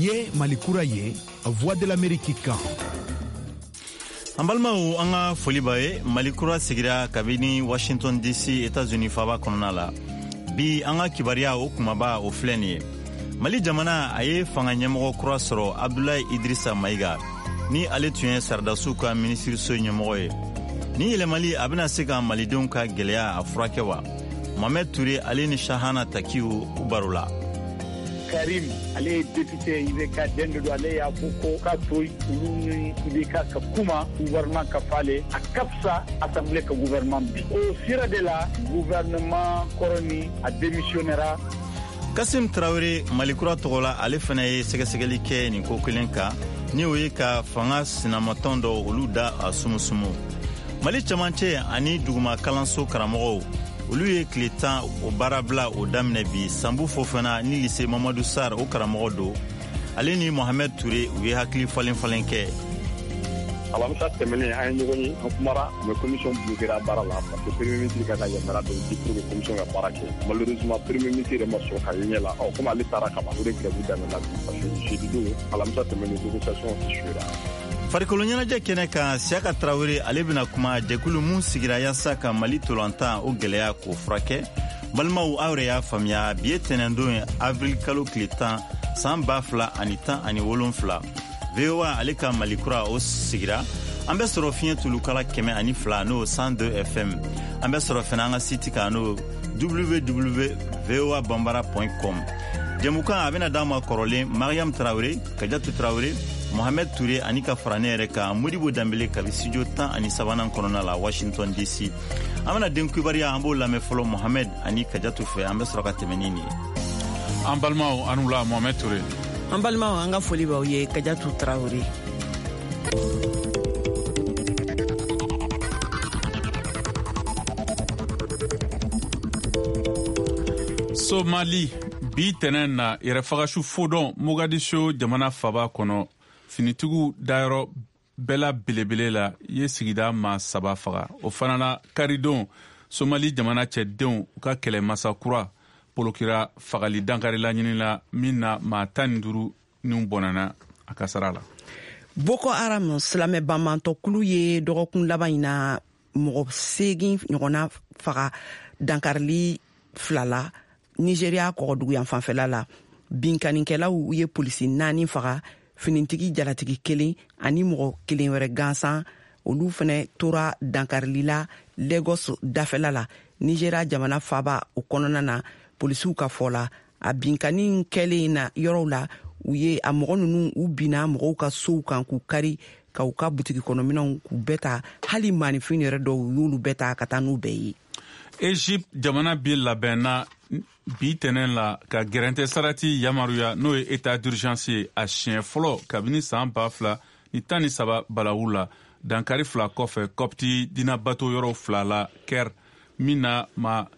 ye Mali kura ye Voix de l'Amérique kan. An balimaw an ka foli b'a ye Mali kura sigira kabini Washington DC États-Unis faba kɔnɔna la. Bi an ka kibariya o kumaba o filɛ nin ye. Mali jamana a ye fanga ɲɛmɔgɔ kura sɔrɔ Abdoulaye Idrissa Maïga ni ale tun ye Saradasiw ka minisiriso ɲɛmɔgɔ ye. Ni yɛlɛmali a bɛna se ka malidenw ka gɛlɛya a furakɛ wa? Mohamed Touré ale ni Shahana Takiw u baro la. Karim ale ye député IBK den de do ale y'a fɔ ko ka to olu ni IBK ka kuma gouvernement ka fale a kapsa assemblée ka gouvernement bi o sira de la gouvernement koroni a démissionnera. Kassim Traoré Malikura tɔgɔ la ale fana ye sɛgɛsɛgɛli kɛ nin ko kelen kan ni o ye ka fanga sinamatɔn dɔ olu da a sumusumu. Mali camancɛ ani duguma kalanso karamɔgɔw olu ye tile 10 o baarabila o daminɛ bi Sambu Fofana ni lycée Mamadou Sarr o karamɔgɔ do ale ni Mohamed Touré u ye hakili falen kɛ. Alamisa tɛmɛnen an ye ɲɔgɔn ye an kumara mais commission bloquera baara la parce que premier ministre ka yamaruya dɔ di pour que commission ka baara kɛ malheureusement premier ministre yɛrɛ ma sɔn ka ɲɛ la comme ale taara kaban o de grève daminɛna parce que jeudi don alamisa tɛmɛnen négociation échouera. Farikolo ɲɛnajɛ kɛnɛ kan Siaka Traoré ale bɛna kuma jɛkulu mun sigira yaasa ka Mali tolantan o gɛlɛya k'o furakɛ. Balimaw aw yɛrɛ y'a faamuya bi ye tɛnɛndon ye avril kalo tile 10 san 2017 VOA ale ka Mali kura o sigira. An bɛ sɔrɔ fiɲɛ tulukala 102 n'o 102 FM. An bɛ sɔrɔ fana an ka site kan n'o www.voabambara.com. Jɛmukan a bɛna d'an ma kɔrɔlen Mariam Traoré, Kadiatou Traoré, Mohamed Touré ani ka fara ne yɛrɛ kan Modibo Dambele kabi studio 13 kɔnɔna la Washington DC. An bɛna den kubariya an b'o lamɛn fɔlɔ Mohamed ani Kadiatou fɛ an bɛ sɔrɔ ka tɛmɛ ni nin ye. An balimaw an wula Mohamed Touré. An balimaw an ka foli b'aw ye Kadiatou Traoré. Somali bi tɛnɛn na yɛrɛfagasu fodɔn Mogadiscio jamana faba kɔnɔ finitigiw dayɔrɔ bɛla belebele la ye sigida maa 3 faga o fana na karidon Somali jamana cɛdenw u ka kɛlɛmasa kura polokira fagali dankari la ɲinila min na maa 15 ni bɔnana a ka sara la. Boko Haram silamɛ banbantɔkulu ye dɔgɔkun laban in na mɔgɔ 8 ɲɔgɔnna faga dankarili 2 la Nigeria kɔgɔdugu yan fanfɛla la. Binkanikɛlaw ye polisi 4 faga finitigi jalatigi 1 ani mɔgɔ 1 wɛrɛ gansan olu fɛnɛ tora dankarili la Lagos dafɛla la. Nigeria jamana faba o kɔnɔna na polisiw ka fɔ la a binkani kɛlen na yɔrɔw la u ye a mɔgɔ nunu u bina mɔgɔw ka sow kan k'u kari ka u ka butigi kɔnɔminɛw k'u bɛɛ ta hali manifin yɛrɛ dɔw y'olu bɛɛ ta ka taa n'u bɛɛ ye. Egypte jamana bi labɛnna bi tɛnɛn la ka gɛrɛntɛ sarati yamaruya n'o ye état d'urgence ye a siɲɛ fɔlɔ kabini san 2013 balawu la dankari 2 kɔfɛ kɔpti dina bato yɔrɔ 2 la Caire min na ma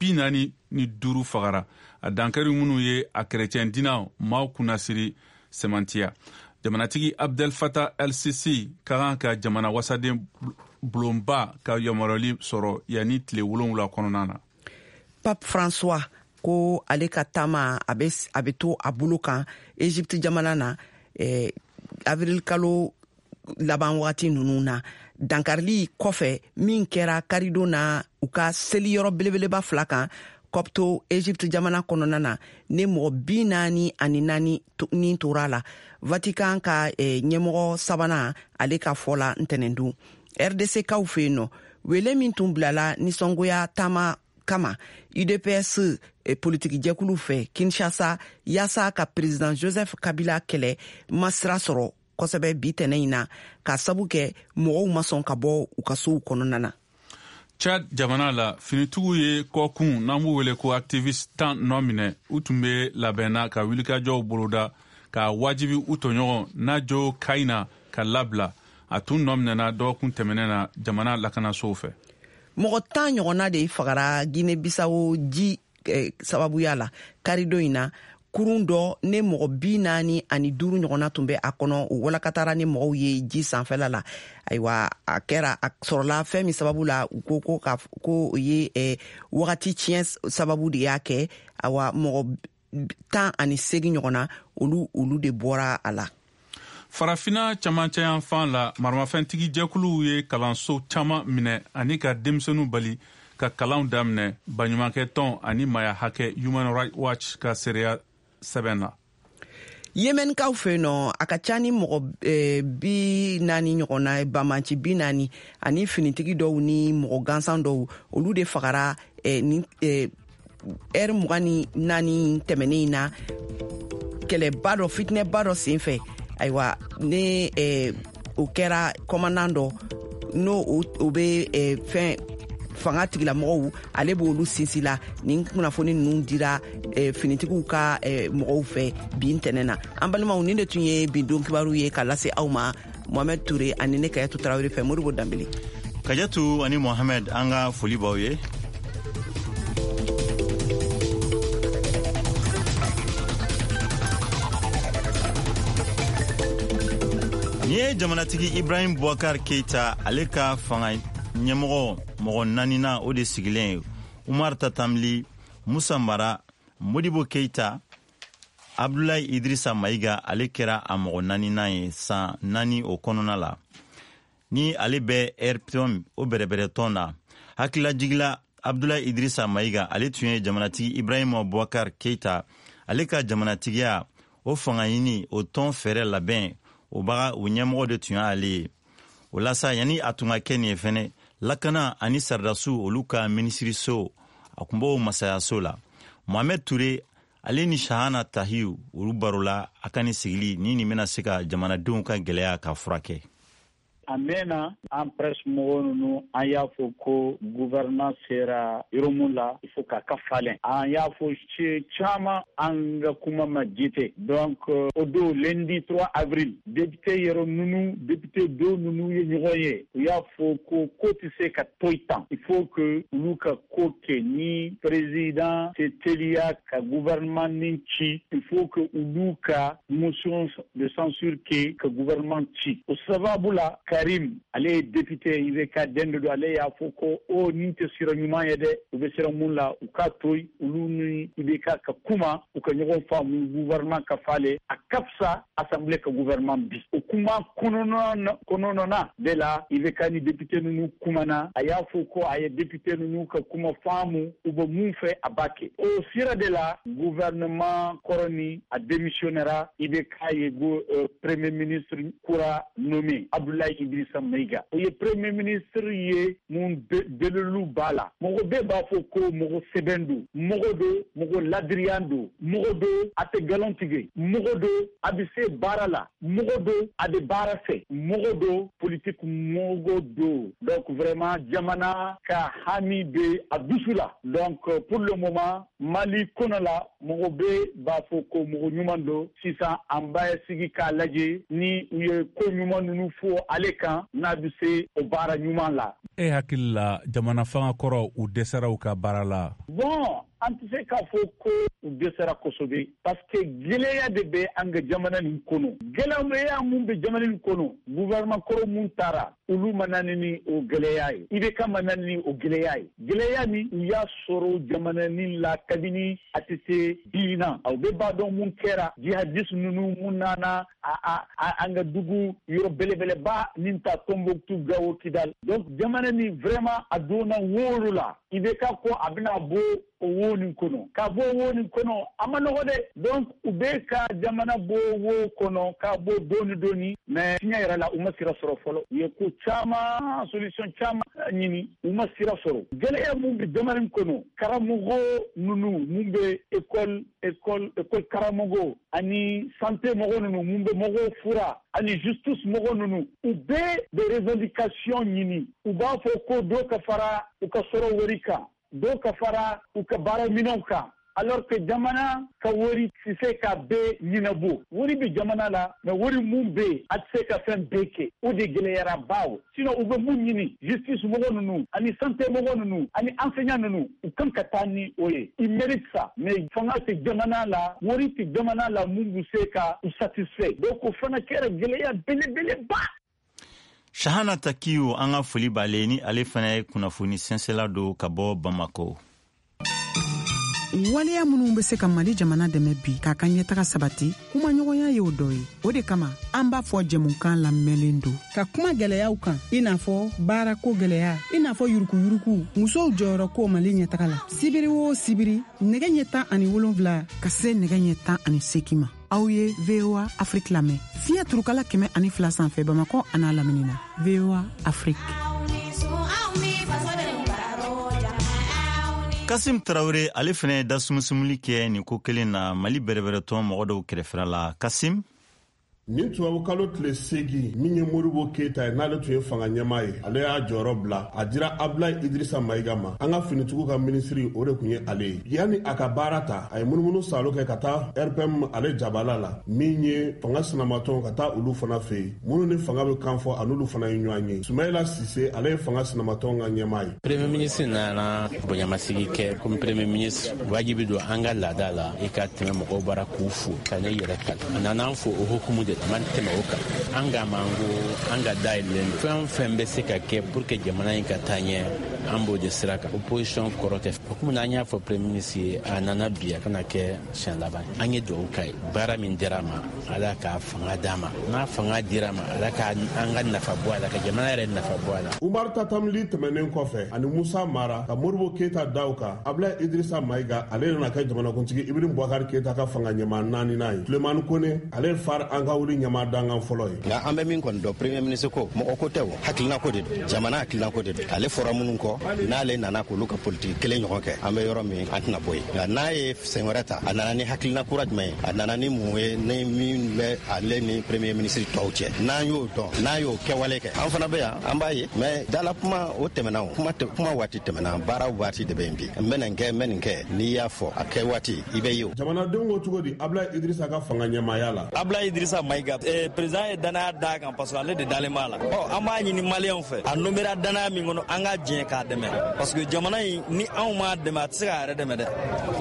45 fagara a dankari minnu ye a kɛrɛcɛn dinaw maaw kunnasiri semantiya. Jamanatigi Abdel Fattah el-Sisi ka kan ka jamana wasaden bulonba ka yamaruyali sɔrɔ yanni tile 7 kɔnɔna na. Pape François ko ale ka taama a bɛ to a bolo kan Egypte jamana na avril kalo laban wagati ninnu na dankarili kɔfɛ min kɛra karidon na u ka seliyɔrɔ belebeleba 2 kan kɔpto Egypte jamana kɔnɔna na ne mɔgɔ 44 ni tora la. Vatican ka ɲɛmɔgɔ sabanan ale ka fɔ la ntɛnɛndon RDC kaw fɛ yen nɔ wele min tun bilala nisɔngoya taama kama UDPS politiki jɛkulu fɛ Kinshasa yaasa ka président Joseph Kabila kɛlɛ masira sɔrɔ kosɛbɛ bi tɛnɛ in na ka sabu kɛ mɔgɔw ma sɔn ka bɔ u ka sow kɔnɔna na. Chad jamana la finitigiw ye kɔkun n'an b'u wele ko activiste 10 nɔ minɛ u tun bɛ labɛnna ka wulikajɔw boloda ka wajibi u tɔɲɔgɔn Najo Kaina ka labila a tun nɔ minɛna dɔgɔkun tɛmɛnen na jamana lakanasow fɛ. Mɔgɔ 10 ɲɔgɔnna de fagara Guinée Bissau ji sababuya la karidon in na kurun dɔ ne mɔgɔ 45 ɲɔgɔnna tun bɛ a kɔnɔ o walakatara ni mɔgɔw ye ji sanfɛla la. Ayiwa a kɛra a sɔrɔla fɛn min sababu la u ko o ye wagati tiɲɛ sababu de y'a kɛ. Awa mɔgɔ 18 ɲɔgɔn na olu de bɔra a la. Farafina camancɛ yan fan la maramafɛntigi jɛkuluw ye kalanso caman minɛ ani ka denmisɛnninw bali ka kalanw daminɛ baɲumankɛ tɔn ani maya hakɛ Human Rights Watch ka seereya sɛbɛn na. Yemenkaw fɛ nɔ a ka ca ni mɔgɔ 40 ɲɔgɔn na bamanci 40 ani finitigi dɔw ni mɔgɔ gansan dɔw olu de fagara ni ɛri 24 tɛmɛnen na kɛlɛba dɔ fitinɛba dɔ senfɛ. Ayiwa ne o kɛra kɔmandan dɔ n'o o bɛ fɛn fanga tigilamɔgɔw ale b'olu sinsin la nin kunnafoni ninnu dira finitigiw ka mɔgɔw fɛ bi ntɛnɛn na. An balimaw nin de tun ye bi don kibaru ye ka lase aw ma Mohamed Toure ani ne Kayatu Tarawele fɛ Modibo Dambele. Kajatu ani Mohamed an ka foli b'aw ye. Ni ye jamanatigi Ibrahim Boubacar Keita ale ka fanga ɲɛmɔgɔ mɔgɔ 4nan o de sigilen ye Umar Tatamli, Musa Mara, Modibo Keita, Abdoulaye Idrissa Maïga ale kɛra a mɔgɔ 4nan ye san 4 o kɔnɔna la. Ni ale bɛ RPM o bɛrɛbɛrɛ tɔn na hakililajigila Abdoulaye Idrissa Maïga ale tun ye jamanatigi Ibrahim Boubacar Keita ale ka jamanatigiya o fanga ɲini o tɔn fɛrɛ labɛn o baga o ɲɛmɔgɔ de tun y'ale ye. O la sa yani a tun ka kɛ nin ye fɛnɛ lakana ani sardasu olu ka minisiriso a kun b'o masayaso la. Mohamed Toure ale ni Shahana Tahiyu olu baro la a ka ni sigili ni nin bɛna se ka jamanadenw ka gɛlɛya ka furakɛ. A mɛnna an presse mɔgɔw ninnu an y'a fɔ ko gouvernement sera yɔrɔ min la il faut k'a ka falen. An y'a fɔ caman an ka kuma ma jite. Donc o don lundi 3 avril député yɔrɔ ninnu député dɔw ninnu ye ɲɔgɔn ye u y'a fɔ ko tɛ se ka to tan. Il faut que olu ka ko kɛ ni président se teliya ka gouvernement nin ci. Il faut que olu ka motion de censure kɛ ka gouvernement ci. O sababu la Karim ale député IBK dende do ale y'a fɔ ko o nin tɛ sira ɲuman ye dɛ u bɛ sira mun la u ka to olu ni IBK ka kuma u ka ɲɔgɔn faamu gouvernement ka fale a ka fisa assemblée ka gouvernement bi o kuma kɔnɔna de la IBK ni député ninnu kumana a y'a fɔ ko a ye député ninnu ka kuma faamu u bɛ mun fɛ a b'a kɛ o sira de la gouvernement kɔrɔni a démissionnera IBK ye premier ministre kura nommé Abdoulaye Idrissa Maïga. O ye premier ministre ye mun belelu b'a la. Mɔgɔ bɛɛ b'a fɔ ko mɔgɔ sɛbɛn don, mɔgɔ don, mɔgɔ ladiriyan don, mɔgɔ don a tɛ galon tigɛ, mɔgɔ don a bɛ se baara la, mɔgɔ don a bɛ baara fɛ, mɔgɔ don politique mɔgɔ don. Donc vraiment jamana ka hami bɛ a dusu la. Donc pour le moment Mali kɔnɔ la mɔgɔ bɛɛ b'a fɔ ko mɔgɔ ɲuman don. Sisan an b'a sigi k'a lajɛ ni u ye ko ɲuman ninnu fɔ ale kan n'a bɛ se o baara ɲuman la. E hakili la jamana fanga kɔrɔ u dɛsɛra u ka baara la? Bon an tɛ se k'a fɔ ko u dɛsɛra kosɛbɛ parce que gɛlɛya de bɛ an ka jamana nin kɔnɔ. Gɛlɛya mun bɛ jamana nin kɔnɔ gouvernement kɔrɔ mun taara olu ma na ni o gɛlɛya ye. IBK ma na ni o gɛlɛya ye. Gɛlɛya min u y'a sɔrɔ jamana nin la kabini a tɛ se bi na. Aw bɛ b'a dɔn mun kɛra jihadiste ninnu mun nana an ka dugu yɔrɔ belebeleba min ta Tombouctou, Gao, Kidal. Donc jamana ni vraiment a donna woro la. IBK ko a bɛna bɔ o wo nin kɔnɔ. Ka bɔ wo nin kɔnɔ a ma nɔgɔ dɛ. Donc u bɛ ka jamana bɔ wo kɔnɔ k'a bɔ dɔɔni mais tiɲɛ yɛrɛ la u ma sira sɔrɔ fɔlɔ. U ye ko caman solution caman ɲini u ma sira sɔrɔ. Gɛlɛya mun bɛ jamana in kɔnɔ karamɔgɔ ninnu mun bɛ école karamɔgɔ ani santé mɔgɔ ninnu mun bɛ mɔgɔw fura ani justice mɔgɔ ninnu u bɛ de revendication ɲini. U b'a fɔ ko dɔ ka fara u ka sɔrɔ wari kan. Dɔw ka fara u ka baaraminɛnw kan alors que jamana ka wari tɛ se ka bɛɛ ɲɛnabɔ. Wari bɛ jamana la mais wari mun bɛ yen a tɛ se ka fɛn bɛɛ kɛ o de gɛlɛyara baw. Sinon u bɛ mun ɲini justice mɔgɔ ninnu ani santé mɔgɔ ninnu ani enseignant ninnu u kan ka taa ni o ye. I mérite ça mais fanga tɛ jamana la wari tɛ jamana la mun bɛ se ka u satisfait. Donc o fana kɛra gɛlɛya belebeleba. Shahana Takiyu an ka foli b'ale ni ale fana ye kunnafoni sɛnsɛnla don ka bɔ Bamako. waleya minnu be se ka Mali jamana dɛmɛ bi k'a ka ɲɛtaga sabati kumaɲɔgɔnya ye o dɔ ye. O de kama an b'a fɔ jɛmukan lamɛnlen don ka kuma gwɛlɛyaw kan, i n'a fɔ baarako gwɛlɛya, i n'a fɔ yurukuyuruku, musow jɔyɔrɔ ko Mali ɲɛtaga la. Sibiri o sibiri nɛgɛ ɲɛ 17 ka se nɛgɛ ɲɛ 18 ma. Aw ye VOA Afrique lamɛn fiɲɛ turukala 102 sanfɛ Bamakɔ a n'a lamini na. VOA Afrique. Kasim Traoré ale fɛnɛ da sumusumuli kɛ nin ko kelen na Mali bɛrɛbɛrɛtɔn mɔgɔ dɔw kɛrɛfɛla la. Kasim nin tubabu kalo tile 8 min ye Modibo Keyita ye n'ale tun ye fanga ɲɛmaa ye, ale y'a jɔyɔrɔ bila a dira Ablaye Idrissa Maïga ma. An ka finitigiw ka minisiri o de kun ye ale ye. Yani a ka baara ta a ye munumunu salo kɛ ka taa RPM ale jabala la min ye fanga sinamatɔn ka taa olu fana fɛ yen minnu ni fanga bɛ kan fɔ an'olu fana ye ɲɔgɔn ye. Sumayila Sise ale ye fanga sinamatɔn ka ɲɛmaa ye. Premier ministre nana bonyamasigi kɛ comme premier ministre wajibi don an ka laada la i ka tɛmɛ mɔgɔw bara k'u fo ka ne yɛrɛ kala. A nana an fo o hukumu de man tɛmɛ o kan. An ka mango an ka dayɛlɛlen fɛn fɛn bɛ se ka kɛ pour que jamana in ka taa ɲɛ an b'o de sira kan. Opposition kɔrɔ tɛ. O komi an y'a fɔ premier ministre ye a nana bi a kana kɛ siɲɛ laban. An ye dugawu k'a ye baara min dira ma Ala ka fanga d'a ma. N'a fanga dira ma Ala ka an ka nafa bɔ a la ka jamana yɛrɛ nafa bɔ a la. Umar Tatamli tɛmɛnen kɔfɛ ani Musa Mara ka Modibo Keyita daw kan Ablaye Idrissa Maïga ale nana kɛ jamanakuntigi Ibrahim Boubacar Keyita ka fanga ɲɛmaa 4nan ye. Sulemani Kone ale ye far an ka wuli ɲɛmaa dangan fɔlɔ ye. Nka an bɛ min kɔni dɔn premier ministre ko mɔgɔ ko tɛ o hakilina ko de don jamana hakilina ko de don ale fɔra minnu kɔ n'ale nana k'olu ka politique kelen ɲɔgɔn kɛ an bɛ yɔrɔ min an tɛna bɔ yen nka n'a ye sen wɛrɛ ta a nana ni hakilina kura jumɛn ye a nana ni mun ye ni min bɛ ale ni premier ministre tɔw cɛ n'an y'o dɔn n'a y'o kɛwale kɛ an fana bɛ yan an b'a ye mais dala kuma o tɛmɛna o kuma waati tɛmɛna baara waati de bɛ yen bi n bɛ nin kɛ n'i y'a fɔ a kɛ waati i bɛ ye o. Jamanadenw ko cogo di Ablaye Idrissa ka fanga ɲɛmaaya la. Ablaye Idrissa Maïga président ye danaya d'a kan parce que ale de dalen b'a la. An b'a ɲini maliyɛnw fɛ a nomera danaya min kɔnɔ an ka diɲɛ k'a dɛmɛ parce que jamana in ni anw m'a dɛmɛ a tɛ se k'a yɛrɛ dɛmɛ dɛ.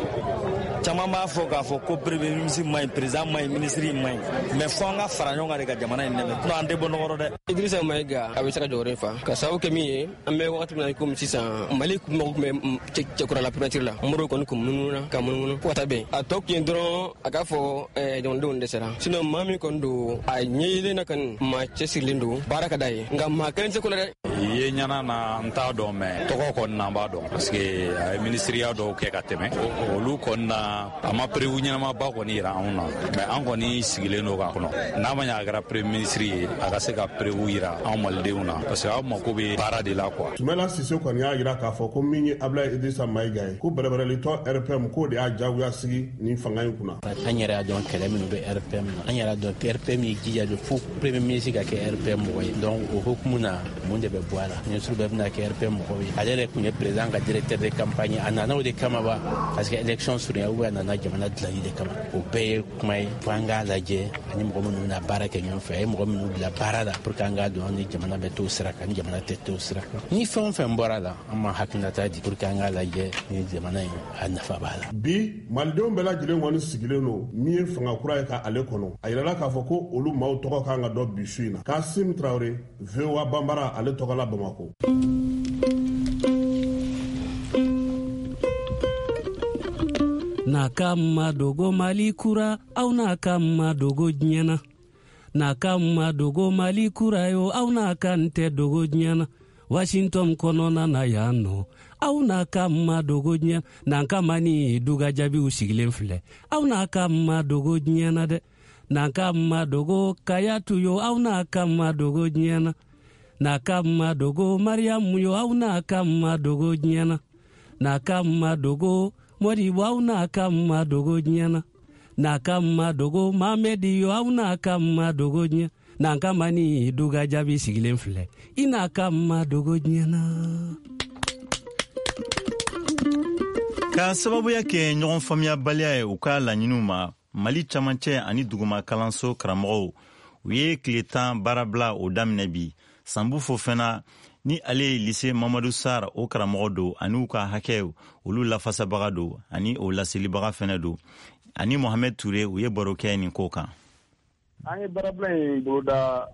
Caman b'a fɔ k'a fɔ ko premier ministre man ɲi président man ɲi ministre man ɲi mais fɔ an ka fara ɲɔgɔn kan de ka jamana in dɛmɛ sinon an tɛ bɔ nɔgɔ dɛ. Idrissa Maïga a bɛ se ka jɔyɔrɔ in fa ka sababu kɛ min ye an bɛ wagati min na komi sisan Mali mɔgɔw tun bɛ cɛkɔrɔla primature la Modibo kɔni kun munumunu ka munumunu fo ka taa bɛn a tɔ kun ye dɔrɔn a k'a fɔ jamanadenw dɛsɛra sinon maa min kɔni don a ɲɛyilen na kɔni maa cɛsirilen don baara ka d'a ye nka maa kelen tɛ ko la dɛ. Ye ɲana na n t'a dɔn mais tɔgɔ kɔni na n b'a dɔn parce que a ye ministeriya dɔw kɛ ka tɛmɛ olu kɔni na a ma prévu ɲɛnamaba kɔni yira anw na mais an kɔni sigilen don k'a kɔnɔ n'a ma ɲɛ a kɛra premier ministre ye a ka se ka prévu yira anw malidenw na parce que aw mako bɛ baara de la quoi. Sumayila Sise kɔni y'a jira k'a fɔ ko min ye Ablaye Idrissa Maïga ye ko bɛrɛbɛrɛlitɔ RPM k'o de y'a jagoya sigi nin fanga in kunna. An yɛrɛ y'a dɔn kɛlɛ minnu bɛ RPM na an yɛrɛ y'a dɔn RPM ye jija de fo premier ministre ka kɛ RPM mɔgɔ ye donc o hukumu na mun de bɛ bɔ a la ministre bɛɛ bɛna kɛ RPM mɔgɔ ye ale yɛrɛ tun ye président ka directeur de campagne a nana o de kama ba parce que élection surunya ou a nana jamana dilanni de kama o bɛɛ ye kuma ye fo an k'a lajɛ ani mɔgɔ minnu bɛna baara kɛ ɲɔgɔn fɛ a ye mɔgɔ minnu bila baara la pour que an k'a dɔn ni jamana bɛ t'o sira kan ni jamana tɛ t'o sira kan ni fɛn o fɛn bɔra la an ma hakilinata di pour que an k'a lajɛ ni jamana in a nafa b'a la. Bi malidenw bɛɛ lajɛlen kɔni sigilen don min ye fanga kura ye ka ale kɔnɔ a yirala k'a fɔ ko olu maaw tɔgɔ kan ka dɔn bi su in na. Kasim Traoré VOA Bambara ale tɔgɔ la Bamako. Na kama dogo Mali kura au na kama dogo nyana na kama dogo Mali kura yo au na kante dogo nyana Washington konona na yano au na kama dogo nyana na kama ni duga jabi usigilen filɛ au na kama dogo nyana de na kama dogo kayatu yo au na kama dogo nyana na kama dogo Mariam yo au na kama dogo nyana na kama dogo Modibo au na kama dogo nyana na kama dogo Mamedi yo au na kama dogo nyana na kama ni duga jabi sigilen filɛ ina kama dogo nyana. Ka sababuya kɛ ɲɔgɔn faamuyabaliya ye u ka laɲiniw ma Mali camancɛ ani duguma kalanso karamɔgɔw u ye tile 10 baarabila o daminɛ bi Sanbu Fofana ni ale ye lycée Mamadou Sarr o karamɔgɔ don ani u ka hakɛw olu lafasabaga don ani o laselibaga fɛnɛ don ani Mohamed Touré u ye baro kɛ nin ko kan. an ye baarabila in boloda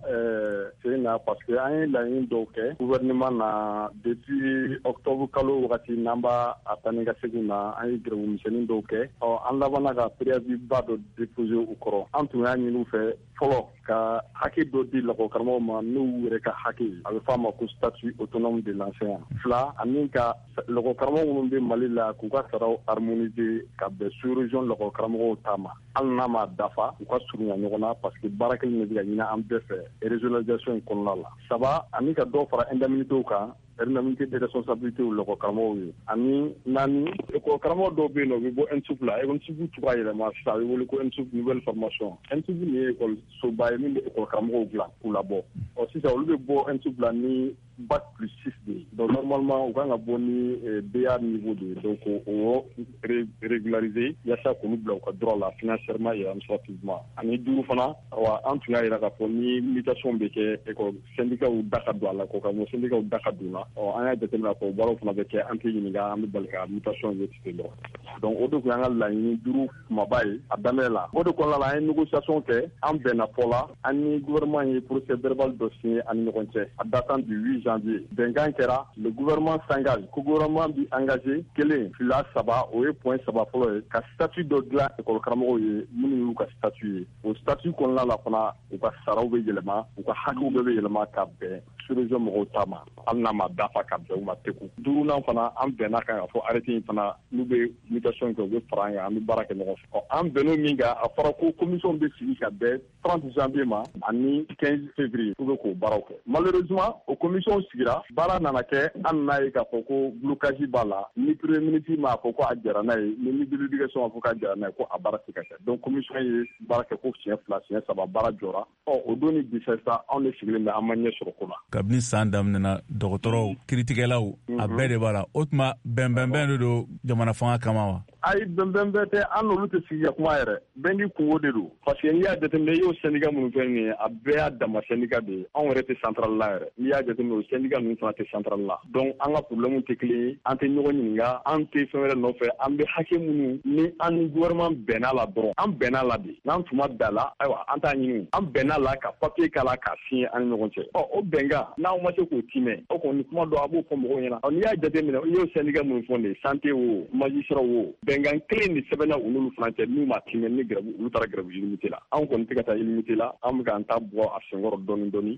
sen na parce que an ye laɲini dɔw kɛ gouvernement na depuis octobre kalo wagati n'an b'a a taa ni ka segin na an ye grève dɔw kɛ an labanna ka préavis ba dɔ déposer u kɔrɔ an tun y'a ɲini u fɛ fɔlɔ ka hakɛ dɔ di lakɔkaramɔgɔw ma n'u yɛrɛ ka hakɛ ye a bɛ fɔ a ma ko statut autonome de l'enseignant. Fila ani ka lakɔkaramɔgɔ minnu bɛ Mali la k'u ka saraw harmoniser ka bɛn sous-région lakɔkaramɔgɔw ta ma hali n'a ma dafa u ka surunya ɲɔgɔn na parce que baara kelen de bɛ ka ɲini an bɛɛ fɛ régionalisation in kɔnɔna la. Saba ani ka dɔ fara indemnités kan indemnité de responsabilité u lakɔkaramɔgɔw ye ani naani karamɔgɔ dɔw bɛ yen nɔ u bɛ bɔ ENSUP la ENSUP cogoya yɛlɛma sisan a bɛ wele ko ENSUP nouvelle formation ENSUP nin ye ekɔlisoba ye min bɛ karamɔgɔw dilan k'u labɔ sisan olu bɛ bɔ ENSUP la ni bac plus 6 de ye donc normalement u kan ka bɔ ni BA niveau de ye donc o régulariser yaasa k'olu bila u ka droit la financièrement et administrativement ani duuru fana an tun y'a jira k'a fɔ ni mutation bɛ kɛ école syndicat da ka don a la k'o syndicat da ka don la an y'a jateminɛ k'o baaraw fana bɛ kɛ an tɛ ɲininka an bɛ bali ka mutation ye ten dɔrɔn donc o de tun y'an ka laɲini duuru kumaba ye a daminɛ la o de kɔnɔna la an ye négociation kɛ an bɛnna fɔ la an ni gouvernement ye procès verbal dɔ signé an ni ɲɔgɔn cɛ a datant du 8 janvier bɛnkan kɛra le gouvernement s'engage ko gouvernement bi engagé kelen fila saba o ye point saba fɔlɔ ye ka statut dɔ dilan école karamɔgɔw ye minnu y'u ka statut ye o statut kɔnɔna la fana u ka saraw bɛ yɛlɛma u ka hakɛw bɛɛ bɛ yɛlɛma ka bɛn sous-région mɔgɔw ta ma hali n'a ma dafa ka bɛn u ma teku duurunan fana an bɛnna kan ka fɔ arrêté in fana n'u bɛ mutation kɛ u bɛ fara an kan an bɛ baara kɛ ɲɔgɔn fɛ an bɛnn'o min kan a fɔra ko commission bɛ sigi ka bɛn 30 janvier ma ani 15 février u bɛ k'o baaraw kɛ malheureusement o commission sigira baara nana kɛ an n'a ye k'a fɔ ko blocage b'a la ni premier ministre m'a fɔ ko a jara n'a ye ni ministre de l'éducation m'a fɔ k'a jara n'a ye ko a baara tɛ ka kɛ donc commission ye baara kɛ ko siɲɛ 2 siɲɛ 3 baara jɔra o don ni bi sisan anw de sigilen bɛ an ma ɲɛ sɔrɔ ko la kabini san daminɛna dɔgɔtɔrɔw kiiritigɛlaw a bɛɛ de b'a la o tuma bɛnbɛnbɛn de don jamana fanga kama wa ayi bɛnbɛn bɛɛ tɛ an n'olu tɛ sigi ka kuma yɛrɛ bɛn ni kungo de don parce que n'i y'a jateminɛ i y'o syndicat minnu fɛn nin ye a bɛɛ y'a dama syndicat de ye anw yɛrɛ tɛ centrale la yɛrɛ n'i y'a jateminɛ o syndicat ninnu fana tɛ centrale la donc an ka problème tɛ kelen ye an tɛ ɲɔgɔn ɲininka an tɛ fɛn wɛrɛ nɔfɛ an bɛ hakɛ minnu ni an ni gouvernement bɛnna la dɔrɔn an bɛnna la de n'an tun ma bɛn la ayiwa an t'a ɲini an bɛnna la ka papier k'a la k'a signer an ni ɲɔgɔn cɛ o bɛnkan n'aw ma se k'o timɛ o kɔni kuma dɔ a b'o fɔ mɔgɔw ɲɛna n'i y'a jateminɛ i y'o syndicat minnu fɔ nin ye santé wo magistrat wo bɛnkan kelen de sɛbɛnna u n'olu fana cɛ n'u ma timɛ ni grève olu taara grève illimité la anw kɔni tɛ ka taa illimité la an bɛ k'an ta bɔ a senkɔrɔ dɔɔni dɔɔni.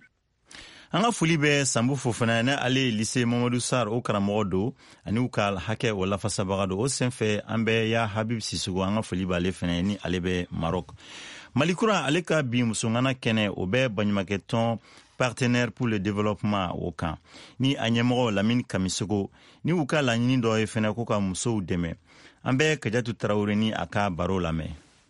an ka foli bɛ Sanbu Fofana ne ale lycée Mamadou Sarr o karamɔgɔ don ani u ka hakɛ o lafasabaga don o senfɛ an bɛ ya Habib Sissogo an ka foli b'ale fɛnɛ ni ale bɛ Maroc. Malikura ale ka bi musongana kɛnɛ o bɛ baɲumankɛtɔn partenaire pour le développement o kan ni a ɲɛmɔgɔ Lamine Kamisogo ni u ka laɲini dɔ ye fɛnɛ ko ka musow dɛmɛ an bɛ Kajatu Tarawele ni a ka baro lamɛn.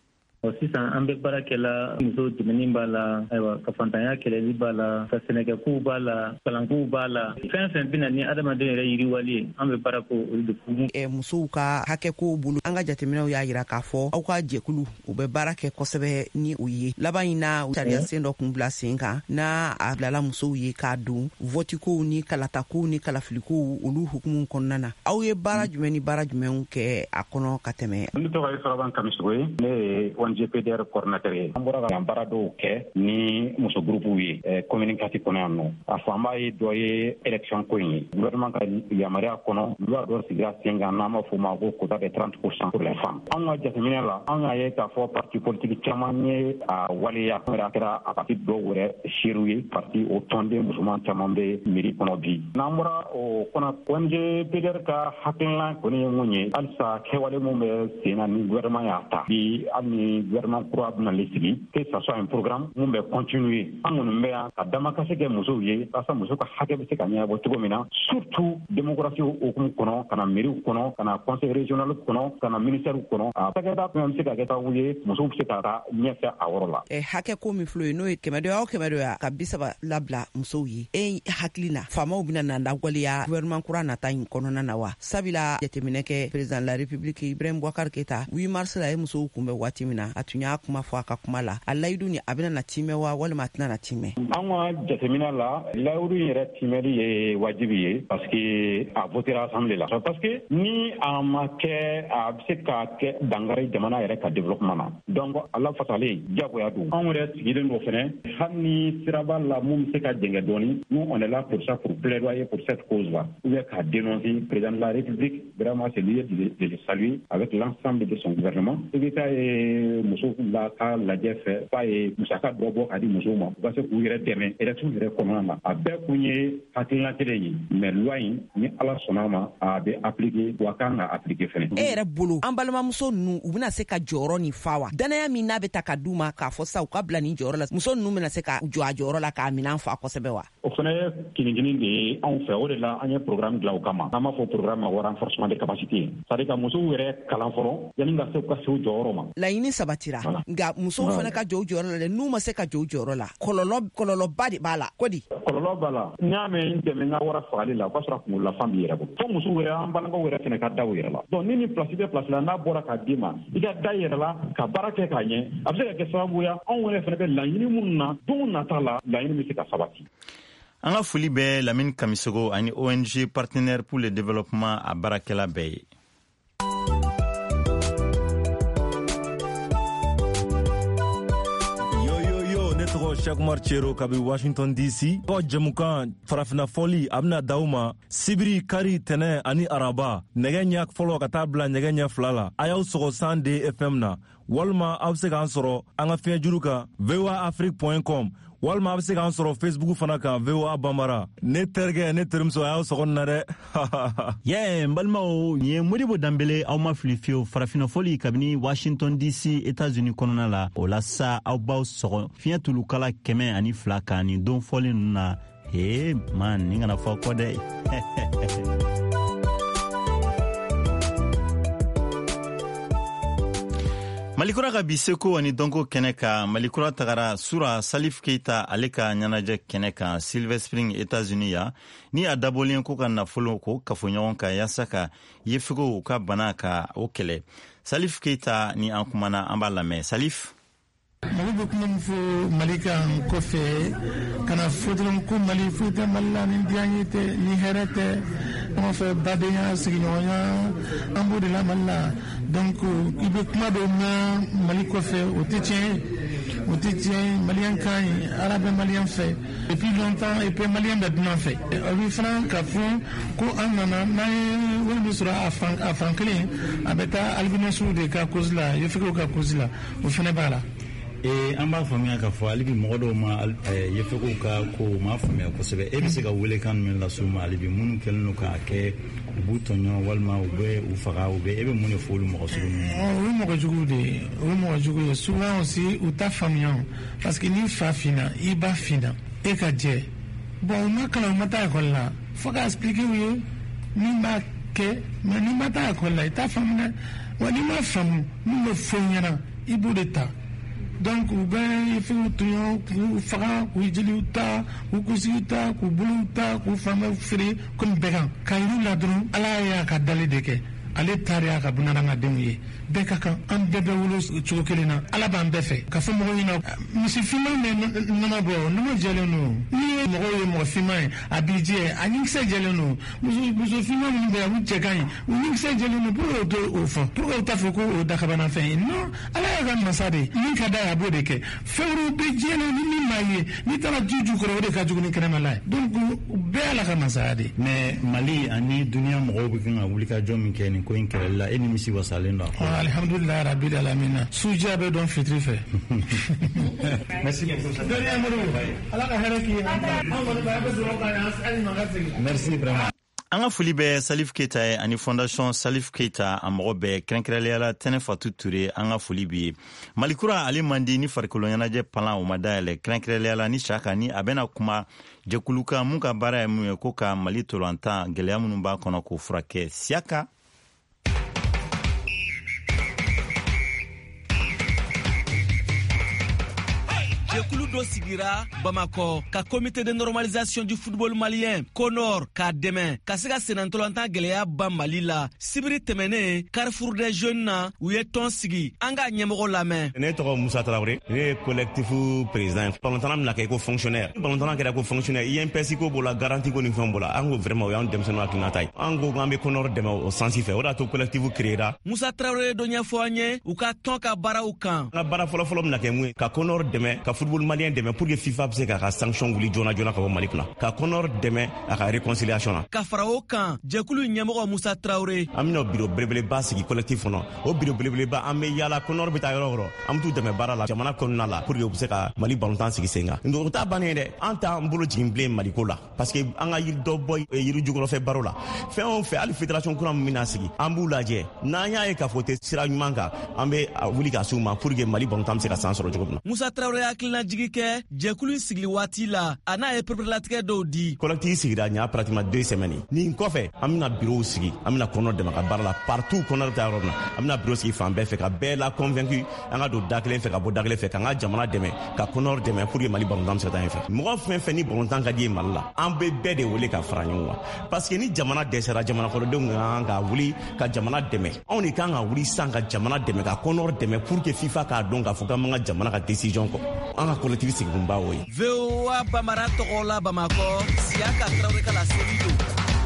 sisan an bɛ baara kɛla muso dɛmɛni b'a la ayiwa ka fantanya kɛlɛli b'a la ka sɛnɛkɛkow b'a la kalankow b'a la fɛn fɛn bɛna ni adamaden yɛrɛ yiriwali ye an bɛ baara ko olu de funu musow ka hakɛkow bolo an ka jateminɛw y'a jira k'a fɔ aw ka jɛkulu u bɛ baara kɛ kosɛbɛ ni o ye laban in na sariya sen dɔ kun bila sen kan n'a a bilala musow ye k'a don votikow ni kalatakow ni kalafilikow olu hukumu kɔnɔna na aw ye baara jumɛn ni baara jumɛnw kɛ a kɔnɔ ka tɛmɛ. Ne tɔgɔ ye Saraban Kamisogo ye ne ye GPDR coordinateur ye an bɔra ka baara dɔw kɛ ni muso groupew ye commune kati kɔnɔ yan nɔ a fanba ye dɔ ye élection ko in ye gouvernement ka yamaruya kɔnɔ loi dɔ sigira sen kan n'an b'a fɔ ma ko quota de 30% pour les femmes an ka jateminɛ la an y'a ye k'a fɔ parti politique caman ye a waleya a kɛra a parti dɔw yɛrɛ seerew ye parti o tɔnden musoman caman bɛ mairie kɔnɔ bi n'an bɔra o kɔnɔ ONG PDR ka hakilina kɔni ye mun ye halisa kɛwale mun bɛ sen na ni gouvernement y'a ta bi hali ni gouvernement kura bɛna le sigi que ça soit un programme mun bɛ continuer an kɔni bɛ yan ka damakasi kɛ musow ye walasa muso ka hakɛ bɛ se ka ɲɛnabɔ cogo min na surtout démocratie hukumu kɔnɔ ka na mairie kɔnɔ ka na conseil régional kɔnɔ ka na ministère kɔnɔ a cakɛda fɛn bɛ se ka kɛ sababu ye musow bɛ se ka taa ɲɛfɛ a yɔrɔ la. hakɛ ko min filɛ n'o ye 100 o 100 ka 30 labila musow ye e hakili na faamaw bɛna na lawaleya gouvernement kura nata in kɔnɔna na wa sabula jateminɛ kɛ président de la république Ibrahim Boubacar Keita 8 mars la ye musow kunbɛn waati min na na a tun y'a kuma fɔ a ka kuma la a layidu ni a bena na timɛ wa walima a tɛna na timɛ. An ka jatemina la layidu yɛrɛ timɛli ye wajibi ye parce que a votera assemblée la parce que ni a ma kɛ a bɛ se ka kɛ dangari jamana yɛrɛ ka développement na donc ala fasalen jagoya don anw yɛrɛ sigilen don fɛnɛ hali ni siraba la mun bɛ se ka jɛngɛ dɔɔni nous on est là pour ça pour plaidoyer pour cette cause là ou bien ka dénoncer président de la République vraiment c'est lieu de le saluer avec l'ensemble de son gouvernement et que ye muso la ka lajɛ fɛ fa ye musaka dɔ bɔ ka di musow ma u ka se k'u yɛrɛ dɛmɛ élection yɛrɛ kɔnɔna na a bɛɛ kun ye hakilina kelen ye mais loi in ni ala sɔnna ma a bɛ appliquer wa kan ka appliquer fɛnɛ. E yɛrɛ bolo an balimamuso ninnu u bɛna se ka jɔyɔrɔ nin fa wa danaya min n'a bɛ ta ka d'u ma k'a fɔ sa u ka bila nin jɔyɔrɔ la muso ninnu bɛna se ka jɔ a jɔyɔrɔ la k'a minɛn fa kosɛbɛ wa. O fana ye kinikini de ye anw fɛ o de la an ye programme dilan o kama n'an b'a fɔ programme ma renforcement de capacité c'est à dire ka musow yɛrɛ kalan fɔlɔ yanni ka se u jɔyɔrɔ ma. Laɲini sabatira nka musow fana ka jɔ u jɔyɔrɔ la dɛ n'u ma se ka jɔ u jɔyɔrɔ la kɔlɔlɔba de b'a la ko di. Kɔlɔlɔ b'a la n'i y'a mɛn dɛmɛ n ka wara fagali la o b'a sɔrɔ kunkololafan b'i yɛrɛ bolo fo musow yɛrɛ an balakaw yɛrɛ fana ka da u yɛrɛ la donc ni place bɛ place la n'a bɔra k'a d'i ma i ka da i yɛrɛ la ka baara kɛ k'a ɲɛ a bɛ se ka kɛ sababuya anw yɛrɛ fana bɛ laɲini minnu na don nata la laɲini bɛ se ka sabati. An ka foli bɛ Lamine Kamisogo ani ONG Partenaires pour le Développement a baarakɛla bɛɛ ye. Chakumar Chero kabi Washington DC ko jamukan farafina foli abna dauma sibiri kari tene ani araba nege ɲa fɔlɔ ka taa bila nege ɲa fila la a y'aw sɔgɔ 100 FM na walima a bɛ se k'an sɔrɔ an ka fiɲɛ juru kan voaafrique.com walima a bɛ se k'an sɔrɔ Facebook fana kan VOA Bambara ne terikɛ ne terimuso a y'aw sɔgɔ na dɛ n balimaw nin ye Modibo Danbele aw ma fili fiyewu farafina foli kabini Washington DC États-Unis kɔnɔna la o la sa aw b'aw sɔgɔ fiɲɛ tulukala 102 kan nin don fɔli ninnu na man nin kana fɔ kɔ dɛ Malikura ka bi seko ani donko kɛnɛ kan Malikura tagara Sura Salif Keita ale ka ɲɛnajɛ kɛnɛ kan Silver Spring États-Unis ya ni a dabɔlen ko ka nafolo ko kafoɲɔgɔn kan yaasa ka yefegow ka bana ka o kɛlɛ Salif Keita ni an kumana an b'a lamɛn Salif. Mali bɛ kuma min fɔ Mali kan kɔfɛ kana fɔ dɔrɔn ko Mali foyi tɛ Mali la ni diya ye tɛ ni hɛrɛ tɛ ɲɔgɔn fɛ badenya sigiɲɔgɔnya an b'o de la Mali la donc i bɛ kuma dɔw mɛn Mali kɔfɛ o tɛ tiɲɛ maliyɛn ka ɲi ala bɛ maliyɛn fɛ depuis longtemps et puis maliyɛn bɛ dunan fɛ o bɛ fana ka fɔ ko an nana n'an ye wari min sɔrɔ a fan kelen a bɛ taa albinosw de ka cause la yefegew ka cause la o fana b'a la. An b'a faamuya ka fɔ hali bi mɔgɔ dɔw ma yefegow ka ko ma faamuya kosɛbɛ e bɛ se ka welekan min las'u ma hali bi minnu kɛlen don k'a kɛ u b'u tɔɲɔ walima u bɛ u faga u bɛ e bɛ mun de fɔ olu mɔgɔ sugu ninnu o ye mɔgɔ jugu de ye o ye mɔgɔ jugu ye souvent aussi u t'a faamuya parce que ni fa finna i ba finna e ka jɛ bon u ma kalan u ma taa ekɔli la fo ka expliquer u ye min b'a kɛ mais n'i ma taa ekɔli la i t'a faamu dɛ wa n'i ma faamu min bɛ fɔ i ɲɛna i b'o de ta. Donc u bɛ yefew tɔɲɔ k'u faga k'u jeliw ta k'u kusigiw ta k'u bolow ta k'u fanbɛw feere komi bɛɛ kan ka yir'u la dɔrɔn ala y'a ka dali de kɛ ale taara y'a ka bunadamadenw ye bɛɛ ka kan an bɛɛ bɛ wolo cogo kelen na ala b'an bɛɛ fɛ ka fɔ mɔgɔw ɲɛna misifinman bɛ nɔnɔ bɔ nɔnɔ jɛlen don n'i ye mɔgɔw ye mɔgɔ finman ye a b'i jɛ a ɲinkisɛ jɛlen don muso finman minnu bɛ yan u cɛ ka ɲi u ɲinkisɛ jɛlen don pour que o t'o fɔ pour que o t'a fɔ ko o dakabanafɛn ye non ala y'a ka masa de min ka d'a ye a b'o de kɛ fɛn wɛrɛw bɛ diɲɛ na ni min m'a ye n'i taara ju kɔrɔ o de ka jugu ni kɛnɛmala ye donc bɛɛ ala ka masaya de. mais Mali ani duniya mɔgɔw bɛ kan ka wulikajɔ min kɛ nin ko in kɛlɛli la e ni misi wasalen don. alhamdulilayi rabbil alamina suja bɛ dɔn fitiri fɛ. merci ala ka hɛrɛ k'i ye an kɔni bɛ sɔrɔ ka hali ma ka segin. merci vraiment. An ka foli bɛ Salif Keita ye ani fondation Salif Keita a mɔgɔ bɛɛ kɛrɛnkɛrɛnnenya la Tɛnɛ Fatu Ture an ka foli b'i ye. Malikura ale man di ni farikolo ɲɛnajɛ palan o ma dayɛlɛ kɛrɛnkɛrɛnnenya la ni Saka ni a bɛna kuma jɛkulu kan mun ka baara ye mun ye ko ka Mali tolantan gɛlɛya minnu b'a kɔnɔ k'o furakɛ Siaka. Jɛkulu dɔ sigira Bamako ka comité de normalisation du football malien Conor k'a dɛmɛ ka se ka senantɔlɔntan gɛlɛya ban Mali la. Sibiri tɛmɛnen Carrefour des Jeunes na u ye tɔn sigi. An ka ɲɛmɔgɔ lamɛn. Ne tɔgɔ Musa Traoré, ne ye collectif président. Ballon mina kɛ ko fonctionnaire. Ballon kɛra ko fonctionnaire. INPS ko b'o la, garantie ko ni fɛn b'o la. An ko vraiment o y'an denmisɛnninw hakilinata ye. An ko k'an bɛ Conor dɛmɛ o sensi fɛ. O de y'a to collectif créera. Musa Traoré dɔ ɲɛfɔ an ye u ka tɔn ka baaraw kan. An ka baara fɔlɔfɔlɔ mina kɛ mun ye ka Conor dɛmɛ, ka football malien dɛmɛ pour que FIFA bɛ se k'a ka sanction wuli joona joona ka bɔ Mali kunna. Ka Conor dɛmɛ a ka réconciliation na. Ka fara o kan jɛkulu ɲɛmɔgɔ Musa Traoré. An bɛna bureau belebeleba sigi collectif kɔnɔ. O bureau belebeleba an bɛ yaala Conor bɛ taa yɔrɔ o yɔrɔ. An bɛ t'u dɛmɛ baara la jamana kɔnɔna la pour que u bɛ se ka Mali balontan sigi sen kan. O t'a bannen ye dɛ. An t'an bolo jigin bilen Maliko la parce que an ka yiri dɔ bɔ yiri jukɔrɔfɛ baro la. Fɛn o fɛn hali fédération kura min bɛna sigi an b'u lajɛ. N'an y'a ye k'a fɔ o tɛ sira ɲuman kan an bɛ wuli ka s'u ma pour que Mali balontan bɛ se ka san sɔrɔ cogo min na. Musa Traoré hakilina jigi kɛ jɛkulu sigili waati la a n'a ye perepérelatigɛ dɔw di. Collectif sigira ɲa pratiquement 2 semaines. Nin kɔfɛ an bɛna bureau sigi an bɛna Conor dɛmɛ ka baara la partout Conor bɛ taa yɔrɔ min na an bɛna bureau sigi fan bɛɛ fɛ ka bɛɛ la convaincu an ka don da kelen fɛ ka bɔ da kelen fɛ k'an ka jamana dɛmɛ ka Conor dɛmɛ pour que Mali balontan bɛ se ka taa yen fɛ. Mɔgɔ fɛn fɛn ni balontan ka di ye Mali la an bɛ bɛɛ de wele ka fara ɲɔgɔn kan parce que ni jamana dɛsɛra jamana kɔnɔdenw kan ka wuli ka jamana dɛmɛ anw de kan ka wuli sisan ka jamana dɛmɛ ka Conor dɛmɛ pour que FIFA k'a dɔn k'a fɔ k'an b'an ka jamana ka décision kɔ an ka collectif sigikun b'a o ye. VOA Bamara tɔgɔ la Bamako Siaka Traoré ka la seli don.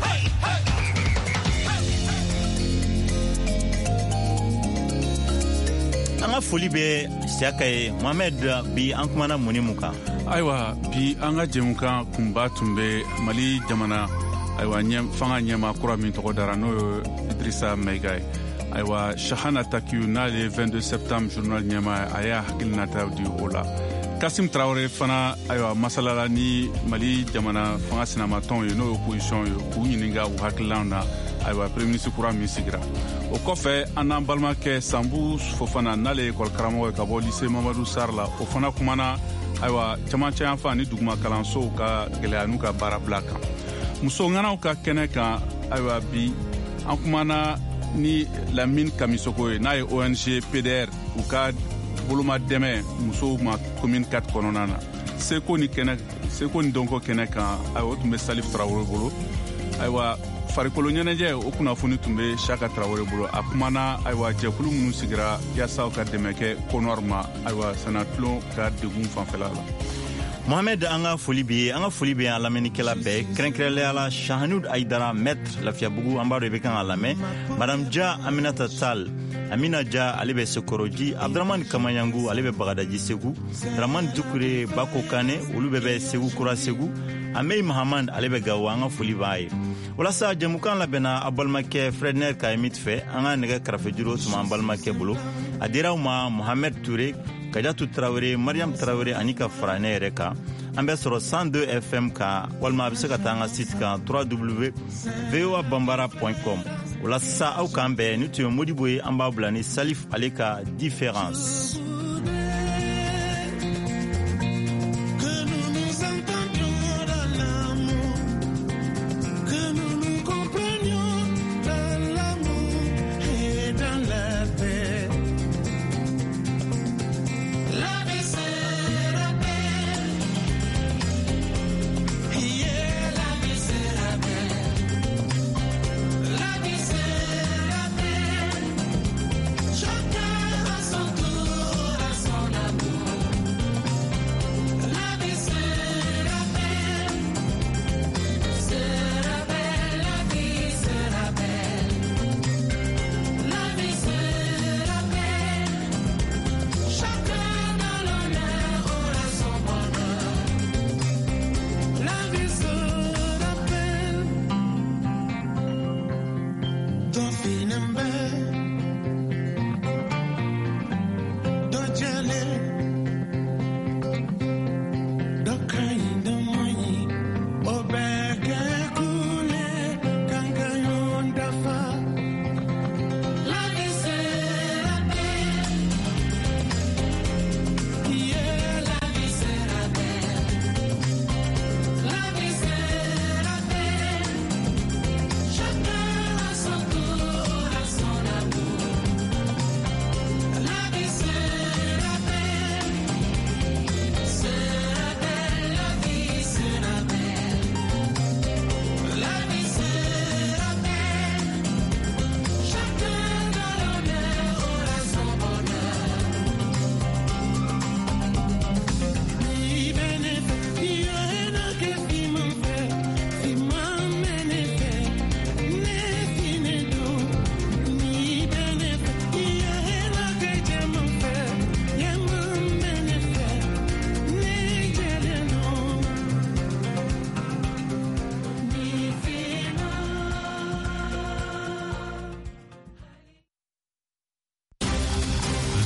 An ka foli bɛ Siaka ye Mohamed bi an kumana mun ni mun kan. Ayiwa bi an ka jɛmukan kunba tun bɛ Mali jamana ayiwa fanga ɲɛma kura min tɔgɔ dara n'o ye Idrissa Maïga ye. Ayiwa Shahana Takiou n'ale 22 septembre journal ɲɛma a y'a hakilinata di o la. Kasim Traoré fana ayiwa masalala ni Mali jamana fanga sinamatɔnw ye n'o ye opposition ye k'u ɲininka u hakililaw na ayiwa premier ministre kura min sigira. O kɔfɛ an n'an balimakɛ Sambu Fofana n'ale ye école karamɔgɔ ye ka bɔ lycée Mamadou Sarr la o fana kumana ayiwa camancɛ yanfan ni duguma kalansow ka gɛlɛya n'u ka baara bila kan. Muso ŋanaw ka kɛnɛ kan ayiwa bi an kumana ni Lamine Kamisoko ye n'a ye ONG PDR u ka boloma dɛmɛ musow ma commune 4 kɔnɔna na. Seko ni dɔnko kɛnɛ kan ayiwa o tun bɛ Salif Traoré bolo ayiwa farikolo ɲɛnajɛ o kunnafoni tun bɛ Siaka Traoré bolo a kumana ayiwa jɛkulu minnu sigira yaasa ka dɛmɛ kɛ Conor ma ayiwa sɛnɛtulon ka degun fanfɛla la. Mohamed an ka foli bɛ an lamɛnnikɛla bɛɛ kɛrɛnkɛrɛnnenya la Shahanud Aidara maître Lafiyabugu an b'a dɔn i bɛ kan ka lamɛn Madame Dia Aminata Tal Amina Dia ale bɛ Sekoroji Abdramane Kamayangu ale bɛ Bagadaji Segu Dramane Dukure Bako Kane olu bɛɛ bɛ Segu Kura Segu Amey Mahamad ale bɛ Gawo an ka foli b'a ye. Walasa jɛmukan labɛnna a balimakɛ Fredner Kayemit fɛ an ka nɛgɛ kɛrɛfɛjuru tun b'an balimakɛ bolo a dira u ma Mohamed Touré Kadiatu Traoré Mariam Traoré ani ka fara ne yɛrɛ kan an bɛ sɔrɔ 102 FM kan walima a bɛ se ka taa an ka site kan www.voabambara.com o la sisan aw k'an bɛn ni tun ye Modibo ye an b'a bila ni Salif ale ka différence.